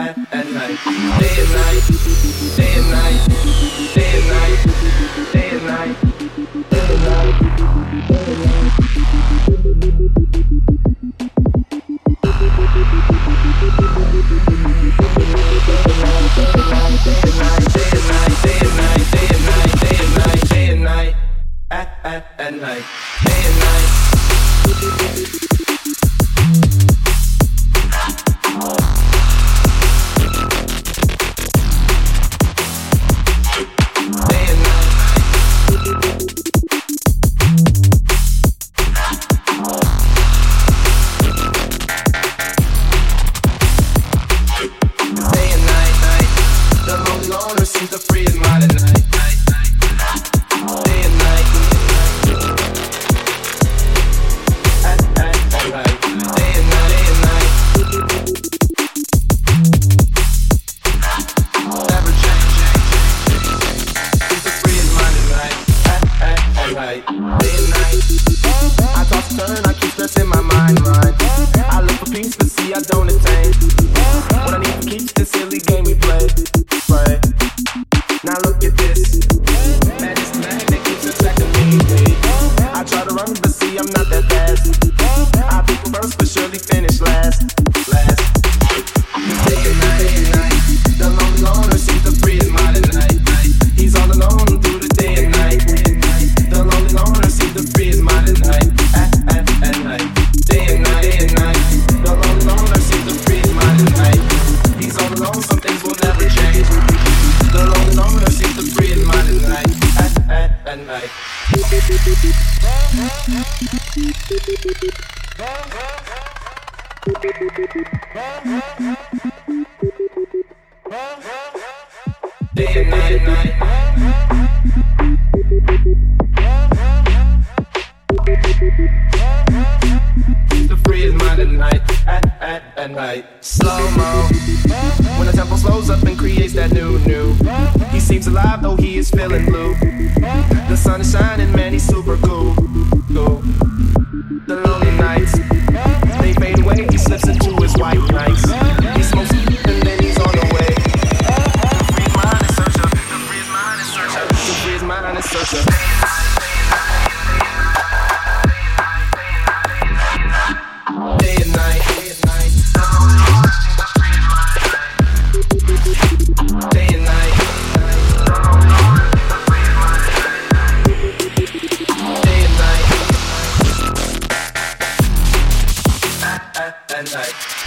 at night. Day and night, day and night, day and night, day and night, day and night, day and night. At night, day and night. Seems to free his mind at night. Day and night. At night. Day and night, day and night. Never change. Seems to free his mind at night. At night. Day and night. I toss and turn, I keep stressing my mind. I look for peace, but see I don't attain. What I need to keep this silly game we play. Right. Now look at this. Man, it's the man that keeps attacking me. I try to run, but see I'm not that fast. I pick first, but surely finish last. Day and night, the lonely loner seems to free his mind at night. He's all alone through the day and night. The lonely loner seems to free his mind at night. At night, day and night, the lonely loner seems to free his mind at night. He's all alone, some things will never change. The lonely loner seems to free his mind at night. At night. Day and night. Seems to free his mind at night. At night. Slow-mo. When the tempo slows up and creates that new. He seems alive though he is feeling blue. The sun is shining, man, he's super cool. The lonely nights, they fade away, he slips into his white nights. He smokes and then he's on the way. To free his mind and search up. To free his mind and search up. To free his mind and search up. Day and night. Day and night. Day and night. At night.